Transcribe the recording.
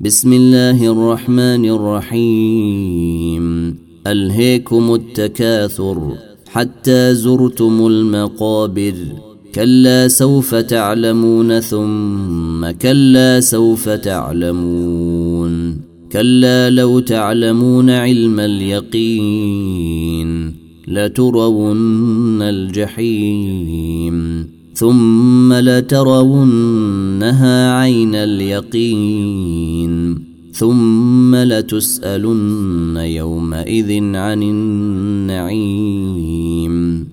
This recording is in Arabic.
بسم الله الرحمن الرحيم. ألهيكم التكاثر حتى زرتم المقابر، كلا سوف تعلمون ثم كلا سوف تعلمون، كلا لو تعلمون علم اليقين لترون الجحيم ثم لترونها عين اليقين ثم لتسألن يومئذ عن النعيم.